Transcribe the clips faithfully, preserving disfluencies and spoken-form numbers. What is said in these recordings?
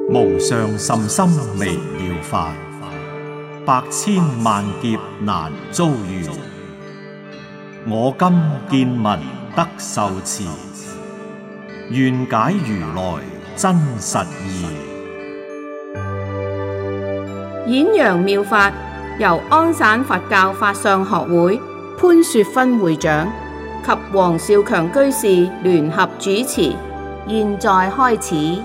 無上甚深微妙法，百千萬劫難遭遇。我今見聞得受持，願解如來真實義。 演揚妙法由安省佛教法相學會潘雪芬會長及黃少強居士聯合主持，現在開始。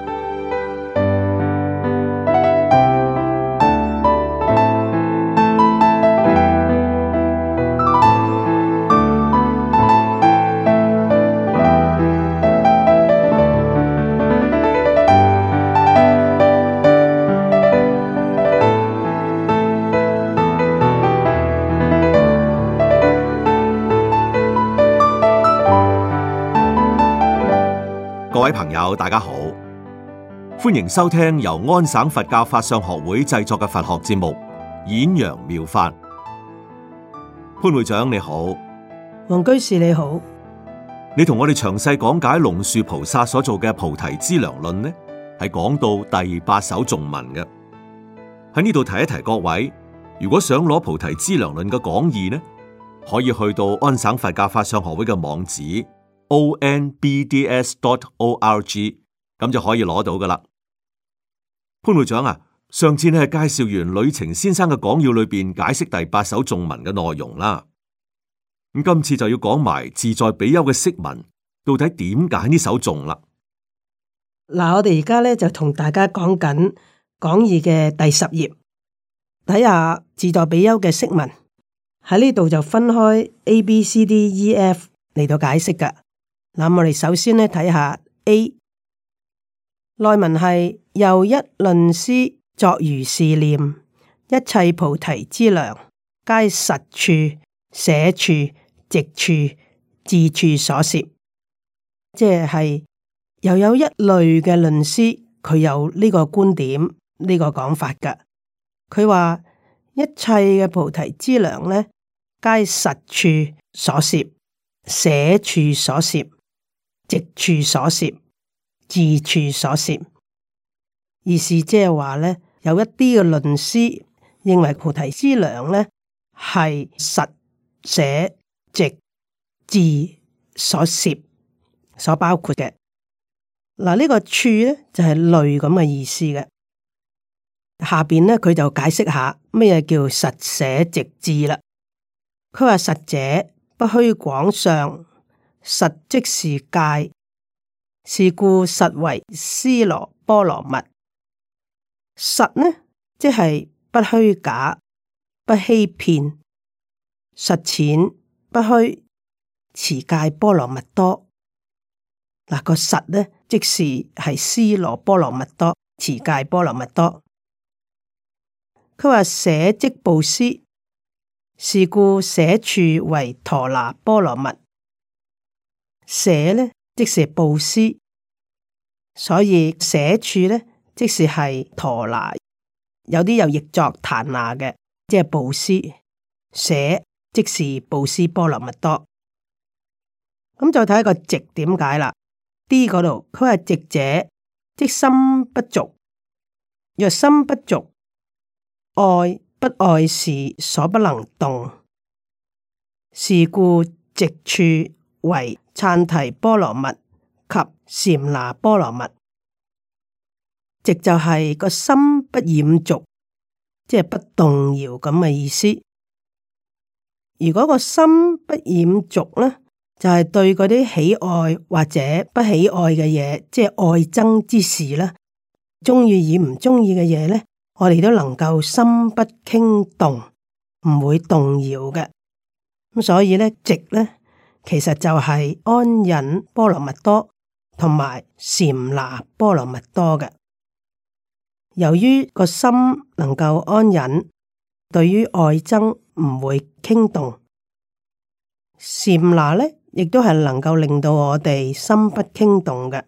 各位朋友，大家好，歡迎收聽由安省佛教法相學會製作嘅佛學節目《演揚妙法》。潘會長你好， 黃居士你好， 你同我哋詳細講解龍樹菩薩所做嘅《菩提資糧論》呢，係講到第八首頌文嘅。喺呢度提一提各位，如果想攞《菩提資糧論》嘅講義呢，可以去到安省佛教法相學會嘅網址。o n b d s dot o r g 咁就可以攞到噶啦。潘會長啊，上次你係介紹完呂澄先生嘅講要裏邊解釋第八首頌文嘅內容啦。咁今次就要講埋自在比丘嘅釋文，到底點解呢首頌啦？ 嗱，我哋而家咧就同大家講緊講義嘅第十頁，睇下自在比丘嘅釋文。喺呢度就分開 A、B、C、D、E、F 嚟到解釋噶。嗱，我哋首先咧睇下 A 內文係又一論師作如是念，一切菩提資糧，皆實處、捨處、直處、自處所攝。即係又有一類嘅論師，佢有呢個觀點，呢、呢個講法噶。佢話一切嘅菩提資糧咧，皆實處所攝、捨處所攝、直處所攝、自處所攝，意思即係話咧，有一啲嘅論師認為菩提資糧咧係實、捨、直、自所攝所包括嘅。嗱，呢個處咧就係、是、類咁嘅意思嘅。下邊咧佢就解釋下咩叫實、捨、直、自啦。佢話實者不虛廣相。實即是界，是故實為尸羅波羅蜜。實呢，即係不虛假、不欺騙、實淺不虛，持戒波羅蜜多。嗱，個實呢，即是係尸羅波羅蜜多，持戒波羅蜜多。佢話捨即布施，是故捨處為陀那波羅蜜。捨呢，即是布施，所以捨處呢，即是係陀那，有啲又譯作檀那嘅，即係布施。捨即是布施波羅蜜多。咁再睇一個直點解啦。D 嗰度佢話直者，即心不俗。若心不俗，愛不愛事所不能動，是故直處為羼提波羅蜜及禪那波羅蜜。直就係個心不染俗，即係不動搖咁嘅意思。如果個心不染俗呢，就係、是、對嗰啲喜愛或者不喜愛嘅嘢，即係愛憎之事啦，中意與唔中意嘅嘢呢，我哋都能夠心不傾動，唔會動搖嘅。咁所以呢，直呢，其實就係安忍波羅蜜多同埋禪那波羅蜜多嘅。由於個心能夠安忍，對於愛憎唔會傾動，禪那呢亦都係能夠令到我哋心不傾動嘅。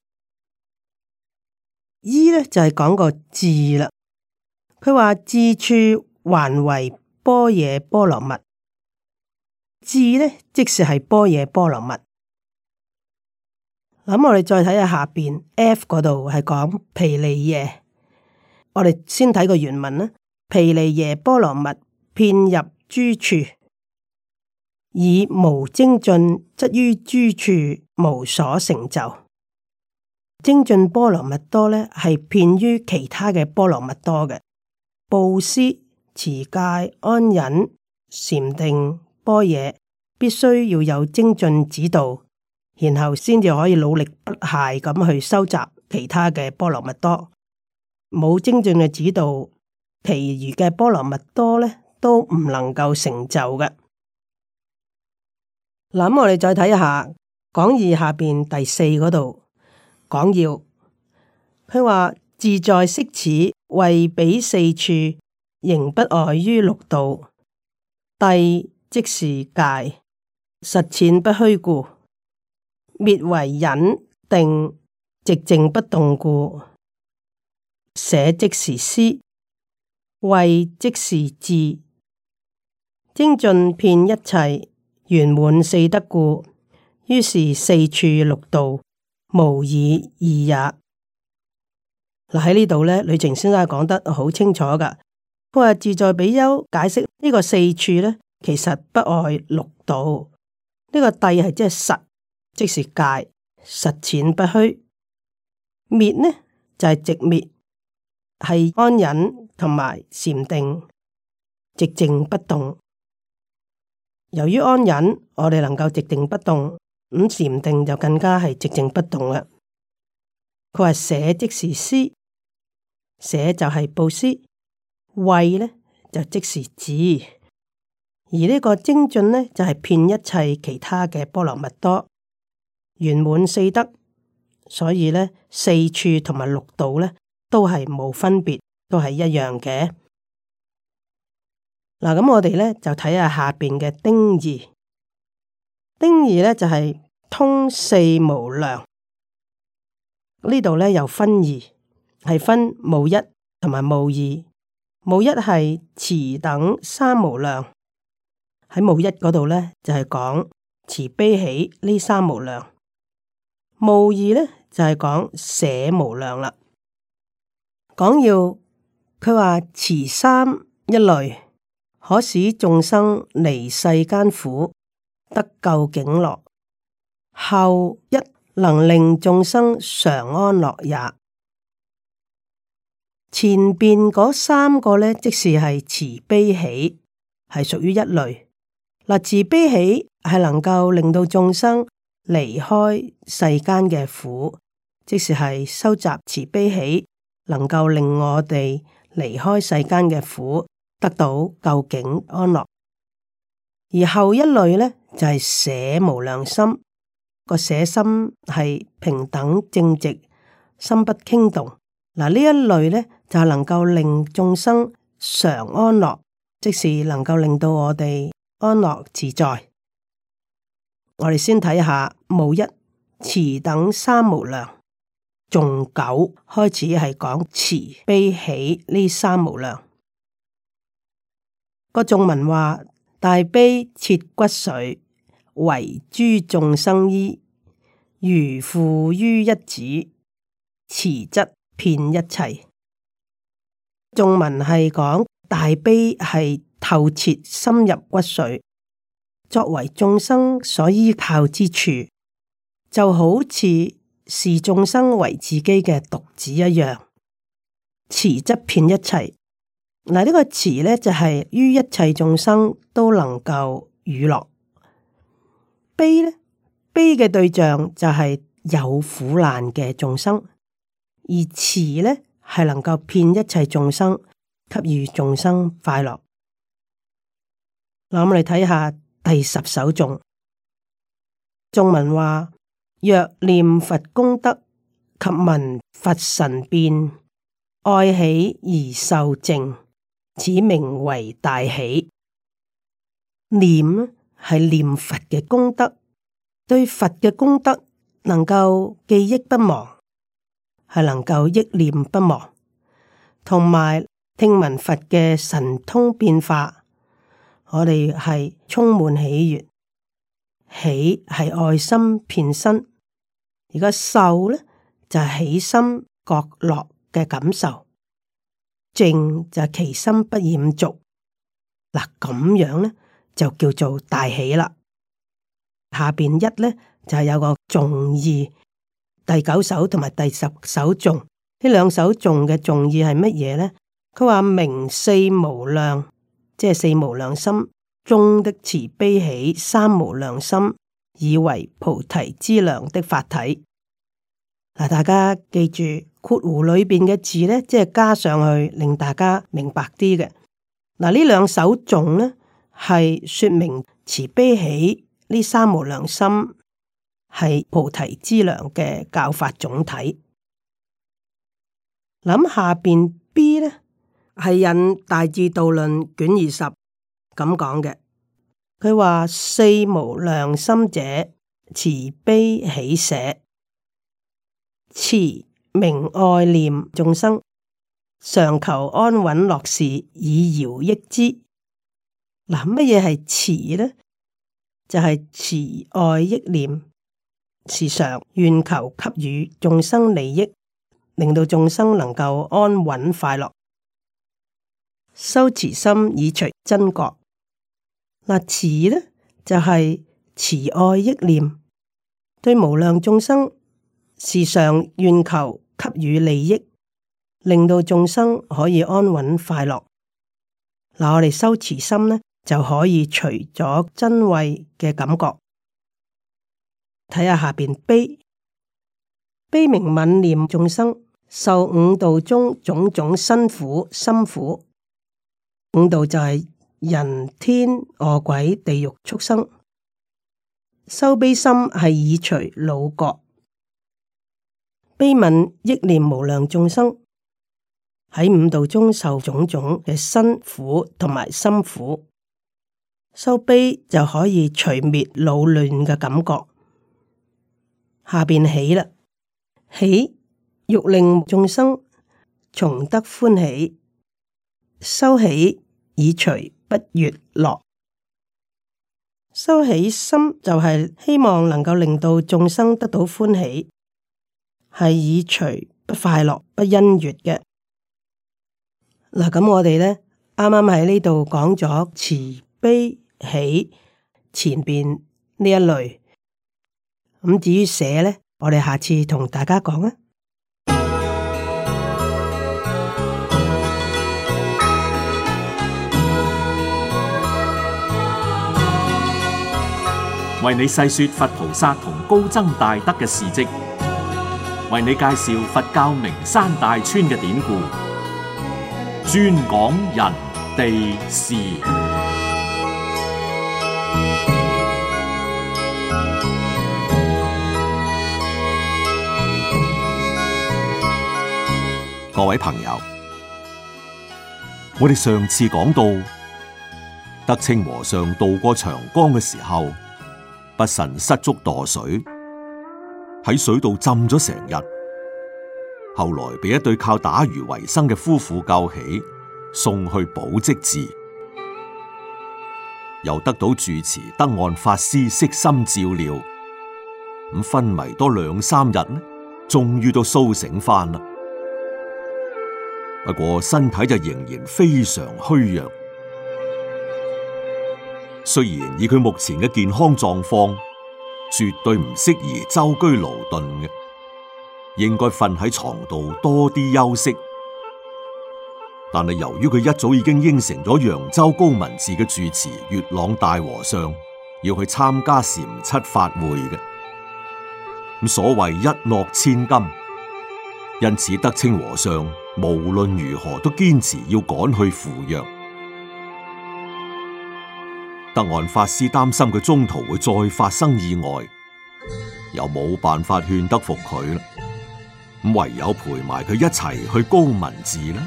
依呢就係、是、講個智啦，佢話智處還為般若波羅蜜。智呢，即是係般若波羅蜜。咁我哋再睇下下邊 F 嗰度係講毗梨耶， 我哋先睇個原文啦。毗梨耶波羅蜜遍入諸處，以無精進，則於諸處無所成就。精進波羅蜜多咧，係遍於其他嘅波羅蜜多嘅。布施、持戒、安忍、禪定、般若，必須要有精進指導，然後先至可以努力不懈咁去收集其他嘅波羅蜜多。冇精進嘅指導，其餘嘅波羅蜜多咧都唔能夠成就嘅。嗱，咁我哋再睇下講義下邊第四嗰度講要，佢話自在悉此為彼四處，仍不外於六道。諦即是戒，實踐不虛故；滅為忍定，寂靜不動故。捨即是思，慧即是智，精進遍一切，圓滿四德故。於是四處六道，無以異也。嗱，喺呢度咧，呂澂先生講得好清楚噶。佢話自在比丘解釋呢個四處咧，其實不外六道。呢、這個諦係即係實，即是戒，實踐不虛。滅呢就係寂滅，係安忍同埋禪定，寂靜不動。由於安忍，我哋能夠寂靜不動，咁禪定就更加係寂靜不動啦。佢話捨即是施，捨就係布施，慧呢就即是智，而呢個精進呢就係、是、遍一切其他嘅波羅蜜多，圓滿四德。所以呢，四處同埋六道呢都係冇分別，都係一樣嘅。嗱，咁我哋咧就睇下下邊嘅丁二，丁二咧就係、是、通四無量。呢度咧又分二，係分無一同埋無二。無一係慈等三無量，喺無一嗰度咧就係、是、講慈悲喜呢三無量。無二咧就係、是、講捨無量啦。講要佢話慈三一類，可使眾生離世間苦，得究竟樂；後一能令眾生常安樂也。前邊嗰三個呢，即是係慈悲喜，係屬於一類。嗱，慈悲喜係能夠令到眾生離開世間嘅苦，即是係收集慈悲喜，能夠令我哋離開世間嘅苦，得到究竟安樂。而後一類呢，就係、是、捨無量心，個捨心係平等正直，心不傾動。嗱，呢一類呢，就係能夠令眾生常安樂，即是能夠令到我哋安樂自在。我哋先睇下無一慈等三無量，頌九開始係講慈悲喜呢三無量。個頌文話：大悲切骨髓，為諸眾生衣，如父於一子，慈則遍一切。頌文係講大悲係透徹深入骨髓，作為眾生所依靠之處，就好似視眾生為自己嘅獨子一樣。慈則遍一切。嗱，呢個慈呢，就係、是、於一切眾生都能夠娛樂。悲呢，悲嘅對象就係有苦難嘅眾生，而慈呢，係能夠遍一切眾生，給予眾生快樂。嗱，我哋睇下第十首頌，頌文話：若念佛功德及聞佛神變，愛喜而受淨，此名為大喜。念係念佛嘅功德，對佛嘅功德能夠記憶不忘，係能夠憶念不忘，同埋聽聞佛嘅神通變化，我哋係充滿喜悅。喜係愛心遍身，而個受呢就係、是、喜心覺樂嘅感受。 正就係其心不染俗。嗱，咁樣咧就叫做大喜啦。下邊一咧就係、是、有個頌義，第九首同埋第十首頌，呢兩首頌嘅頌義係乜嘢咧？佢話明四無量，即係四無量心中的慈悲喜三無量心，以為菩提資糧的法體。嗱，大家記住括弧裏邊嘅字咧，即係加上去，令大家明白啲嘅。嗱，呢兩首頌咧係說明慈悲喜呢三無量心係菩提資糧嘅教法總體。諗下邊 B 咧係引《大智度論》卷二十咁講嘅，佢話四無量心者，慈悲喜捨。慈明愛念眾生，常求安穩樂事，以饒益之。嗱，乜嘢係慈呢？就係、是、慈愛益念，時常願求給予眾生利益，令到眾生能夠安穩快樂。修慈心以隨真覺。嗱，慈呢就係、是、慈愛益念，對無量眾生。時常願求給予利益，令到眾生可以安穩快樂。嗱，我哋修慈心呢，就可以除咗瞋恚嘅感覺。睇下下邊悲，悲明憫念眾生，受五道中種種辛苦心苦。五道就係人天餓鬼地獄畜生。修悲心係以除惱覺。悲憫憶念無量眾生喺五道中受種種嘅辛苦同埋心苦，修悲就可以除滅惱亂嘅感覺。下邊喜啦，喜欲令眾生從得歡喜，修喜以除不悅樂。修喜心就係希望能夠令到眾生得到歡喜。係以除不快樂、不欣悅嘅。嗱，咁我哋咧啱啱喺呢度講咗慈悲喜前邊呢一類，咁至於捨咧，我哋下次同大家講啊。 為你細說佛菩薩同高僧大德嘅事跡，為你介紹佛教名山大川嘅典故，專講人地事。 各位朋友，我哋上次講到，德清和尚渡過長江嘅時候，不慎失足墮水。喺水度浸咗成日，後來被一對靠打魚為生嘅夫婦救起，送去寶積寺，又得到住持德岸法師悉心照料，咁昏迷多兩三日呢，終於都蘇醒翻啦。不過身體就仍然非常虛弱，雖然以佢目前嘅健康狀況，絕對唔適宜舟車勞頓嘅，應該瞓喺床度多啲休息。但係由於佢一早已經應承咗揚州高文寺嘅住持月朗大和尚要去參加禪七法會嘅，咁所謂一諾千金，因此德清和尚無論如何都堅持要趕去赴約。德岸法師擔心佢中途會再發生意外，又冇辦法勸得服佢啦，咁唯有陪埋佢一齊去高文寺啦。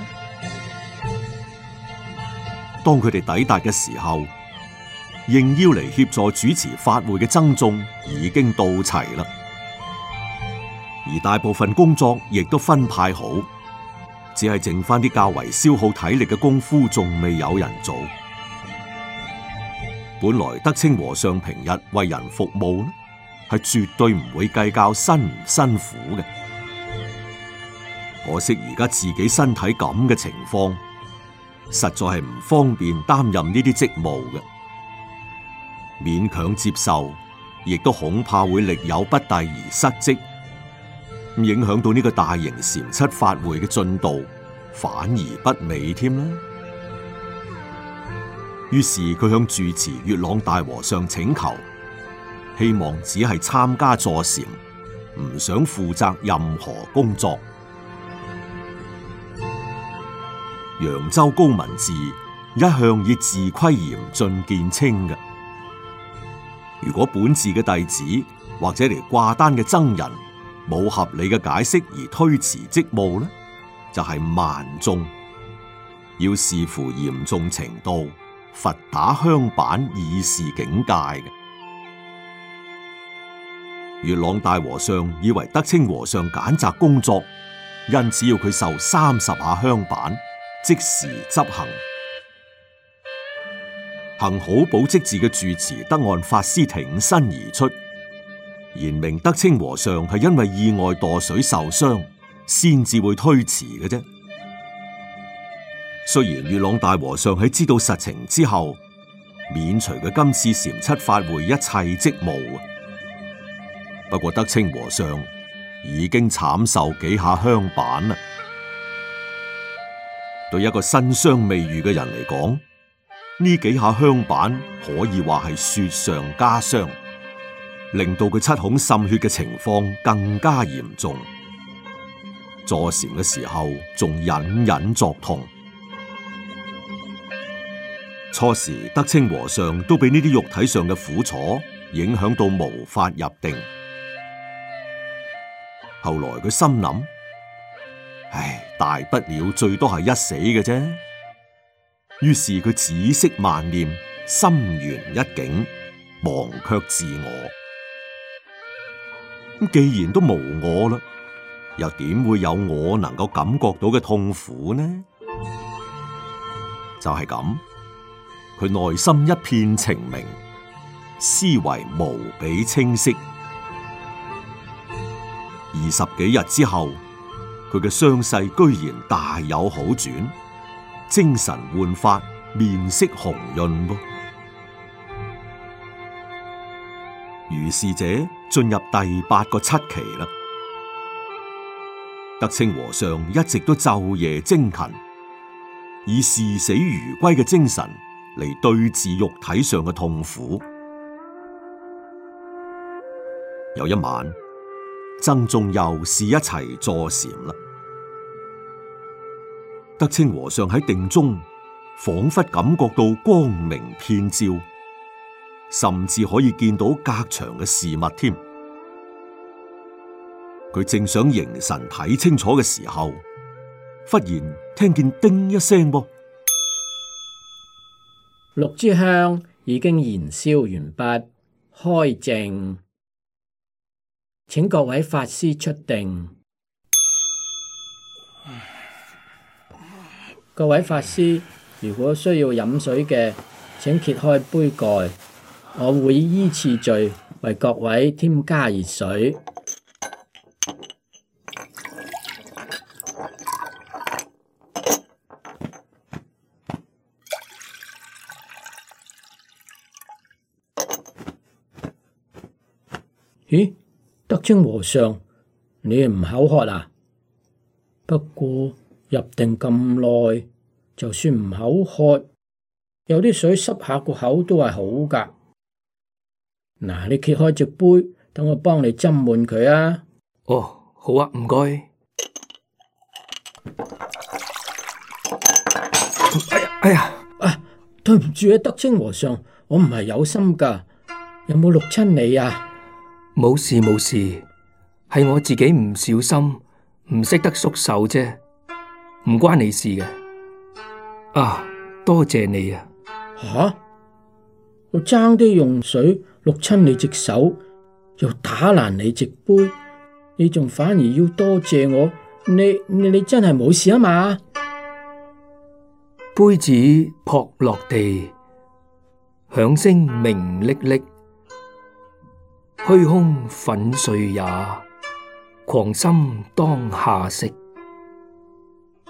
當佢哋抵達嘅時候，應邀嚟協助主持法會嘅僧眾已經到齊啦，而大部分工作亦都分派好，只係剩翻啲較為消耗體力嘅功夫仲未有人做。本來德清和尚平日為人服務呢，係絕對唔會計較辛唔辛苦嘅。 可惜而家自己身體咁嘅情況，實在係唔方便擔任呢啲職務嘅，勉強接受，亦都恐怕會力有不逮而失職，影響到呢個大型禪七法會嘅進度，反而不美添啦。於是佢向住持月朗大和尚請求，希望只係參加坐禪，唔想負責任何工作。揚州高文治一向以自規嚴峻見稱嘅，如果本寺嘅弟子或者嚟掛單嘅僧人冇合理嘅解釋而推辭職務呢，就係慢眾，要視乎嚴重程度，罰打香板以示警戒嘅。月朗大和尚以為德清和尚揀擇工作，因此要佢受三十下香板，即時執行。幸好寶積寺嘅住持德岸法師挺身而出，言明德清和尚係因為意外墮水受傷，先至會推辭嘅啫。雖然月朗大和尚喺知道實情之後，免除佢今次禪七法會一切職務，不過德清和尚已經慘受幾下香板啦。對一個身傷未愈嘅人嚟講，呢幾下香板可以話係雪上加霜，令到佢七孔滲血嘅情況更加嚴重。坐禪嘅時候仲隱隱作痛。初時德清和尚都被呢啲肉體上嘅苦楚影響到無法入定。後來佢心諗，唉，大不了最多係一死嘅啫。於是佢止息萬念，心圓一境，忘卻自我。咁既然都無我啦，又點會有我能夠感覺到嘅痛苦呢？就係咁，佢內心一片澄明，思維無比清晰。二十幾日之後，佢嘅傷勢居然大有好轉，精神煥發，面色紅潤噃。如是者進入第八個七期啦。德清和尚一直都晝夜精勤，以視死如歸嘅精神嚟對治肉體上嘅痛苦。有一晚，僧眾又試一齊坐禪啦。德清和尚喺定中，仿佛感覺到光明遍照，甚至可以見到隔牆嘅事物添。佢正想凝神睇清楚嘅時候，忽然聽見叮一聲噃， 六支香已經燃燒完畢，開淨，請各位法師出定。各位法師，如果需要飲水嘅，請揭開杯蓋，我會依次序為各位添加熱水。咦，德清和尚，你唔口渴啊？不過入定咁耐，就算唔口渴，有啲水濕下個口都係好噶。嗱，你揭開隻杯，等我幫你斟滿佢啊。 哦，好啊，唔該。哎呀，哎呀， 啊，對唔住啊，德清和尚，我唔係有心噶，有冇淥親你啊？ 冇事冇事，係我自己唔小心，唔識得縮手啫，唔關你事嘅。啊，多謝你啊！ 吓，我爭啲用水淥親你隻手，又打爛你隻杯，你仲反而要多謝我？你你你真係冇事啊嘛？ 杯子撲落地，響聲鳴淅淅。虛空粉碎也，狂心當下息。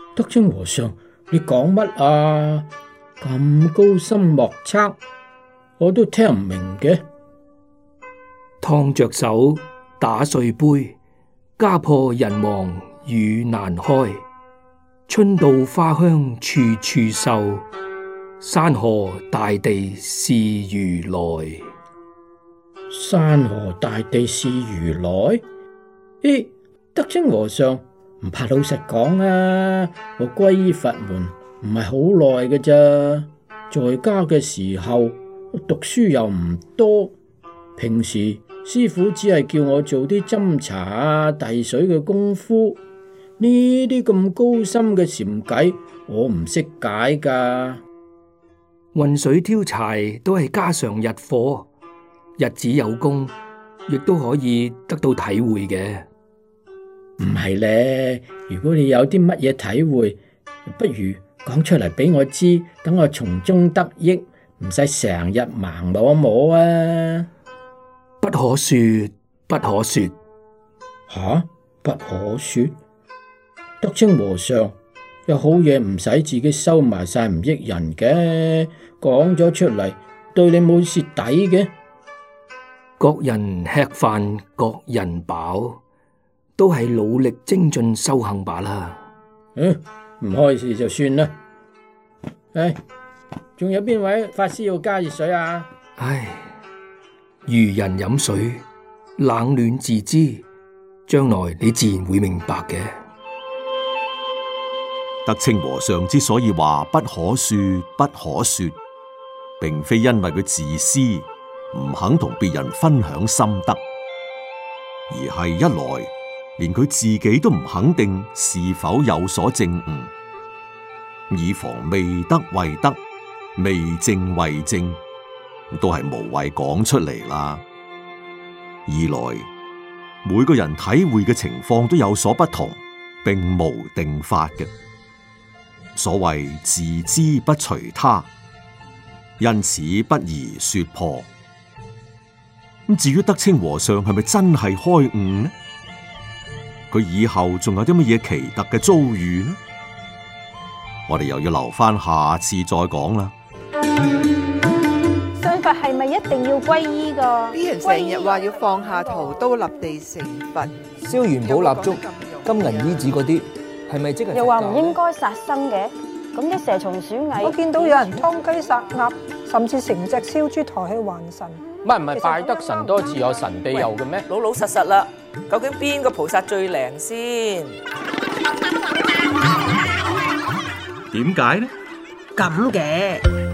德清和尚，你講乜啊？咁高深莫測，我都聽唔明嘅。 燙着手，打碎杯，家破人亡雨難開。春到花香處處秀，山河大地是如來。 山河大地是如來？咦，德清和尚，唔怕老實講啊，我皈依佛門唔係好耐嘅咋，在家嘅時候讀書又唔多，平時師父只係叫我做啲斟茶啊、遞水嘅功夫，呢啲咁高深嘅禪偈，我唔識解噶。 運水挑柴都係家常日課，日子有功，亦都可以得到體會嘅。 唔係咧，如果你有啲乜嘢體會，不如講出嚟俾我知，等我從中得益，唔使成日盲摸摸啊！ 不可說，不可說。 吓、啊，不可說。德清和尚，有好嘢唔使自己收埋晒，唔益人嘅，講咗出嚟對你冇蝕底嘅。 各人吃飯，各人飽，都係努力精進修行罷啦。 嗯，唔開示就算啦。唉，仲有邊位法師要加熱水啊？ 唉，愚人飲水，冷暖自知，將來你自然會明白嘅。 德清和尚之所以話不可說不可說，並非因為佢自私，唔肯同別人分享心得，而係一來連佢自己都唔肯定是否有所證悟，以防未得為得，未證為證，都係無謂講出嚟啦。二來每個人體會嘅情況都有所不同，並無定法嘅。所謂自知不隨他，因此不宜說破。咁至於德清和尚係咪真係開悟呢？佢以後仲有啲乜嘢奇特嘅遭遇呢？我哋又要留翻下，下次再講啦。 信佛係咪一定要皈依㗎？ 啲人成日話要放下屠刀立地成佛， 燒元寶蠟燭、金銀衣紙嗰啲，係咪即係？ 又話唔應該殺生嘅，咁啲蛇蟲鼠蟻， 我見到有人劏雞殺鴨，甚至成隻燒豬抬去還神。 唔係唔係，拜得神多自有神庇佑嘅咩？ 老老實實啦，究竟邊個菩薩最靈先？ 點解呢？ 咁嘅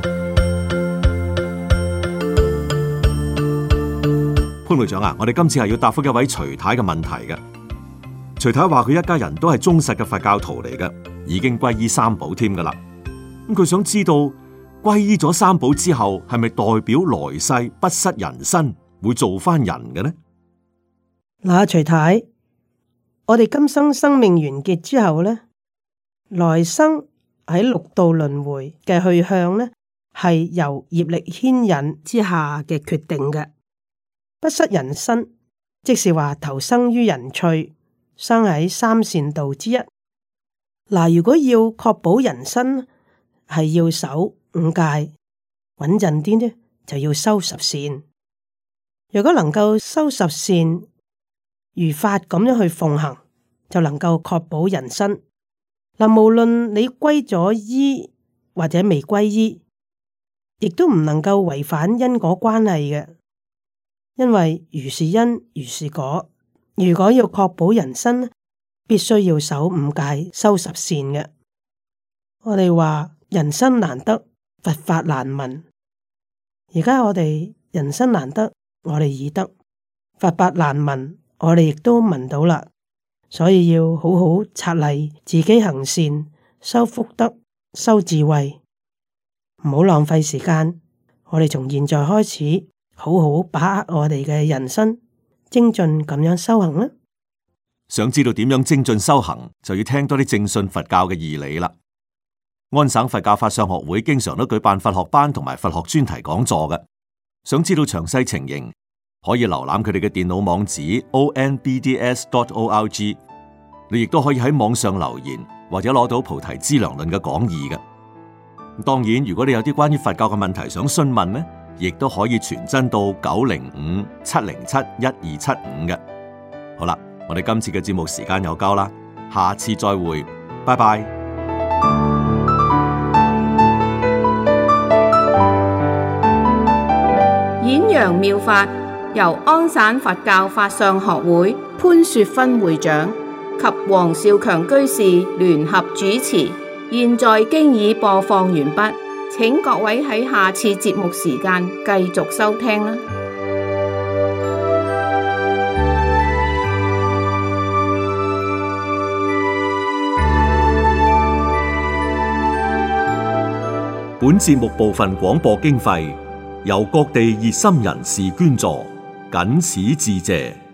潘會長啊，我哋今次係要答覆一位徐太嘅問題嘅。徐太話佢一家人都係忠實嘅佛教徒嚟嘅，已經皈依三寶添噶啦。咁佢想知道皈依咗三寶之後，係咪代表來世不失人身，會做翻人嘅呢？ 嗱，徐太，我哋今生生命完結之後呢，來生喺六道輪迴嘅去向呢，係由業力牽引之下嘅決定嘅。不失人身，即是話投生於人趣，生喺三善道之一。嗱，如果要確保人身，係要守五戒，穩陣啲呢，就要修十善。如果能夠修十善，如法咁樣去奉行，就能夠確保人身。嗱，無論你歸咗依或者未歸依，亦都唔能夠違反因果關係嘅，因為如是因如是果。如果要確保人身，必須要守五戒，修十善嘅。我哋話人生難得，佛法難聞。而家我哋人生難得，我哋已得；佛法難聞，我哋亦都聞到啦。所以要好好策勵自己行善，修福德，修智慧，唔好浪費時間。我哋從現在開始，好好把握我哋嘅人生，精進咁樣修行啦。 想知道點樣精進修行，就要聽多啲正信佛教嘅義理啦。安省佛教法相學會經常都舉辦佛學班同埋佛學專題講座嘅。想知道詳細情形，可以瀏覽佢哋嘅電腦網址 o n b d s dot o r g。你亦都可以喺網上留言或者攞到《菩提資糧論》嘅講義嘅。當然，如果你有啲關於佛教嘅問題想詢問呢，亦都可以傳真到九零五七零七一二七五嘅。好啦，我哋今次嘅節目時間有交啦，下次再會，拜拜。 演揚妙法由安省佛教法相學會潘雪芬會長及黃少強居士聯合主持，現在經已播放完畢，請各位喺下次節目時間繼續收聽啦。 本節目部分廣播經費由各地熱心人士捐助，謹此致謝。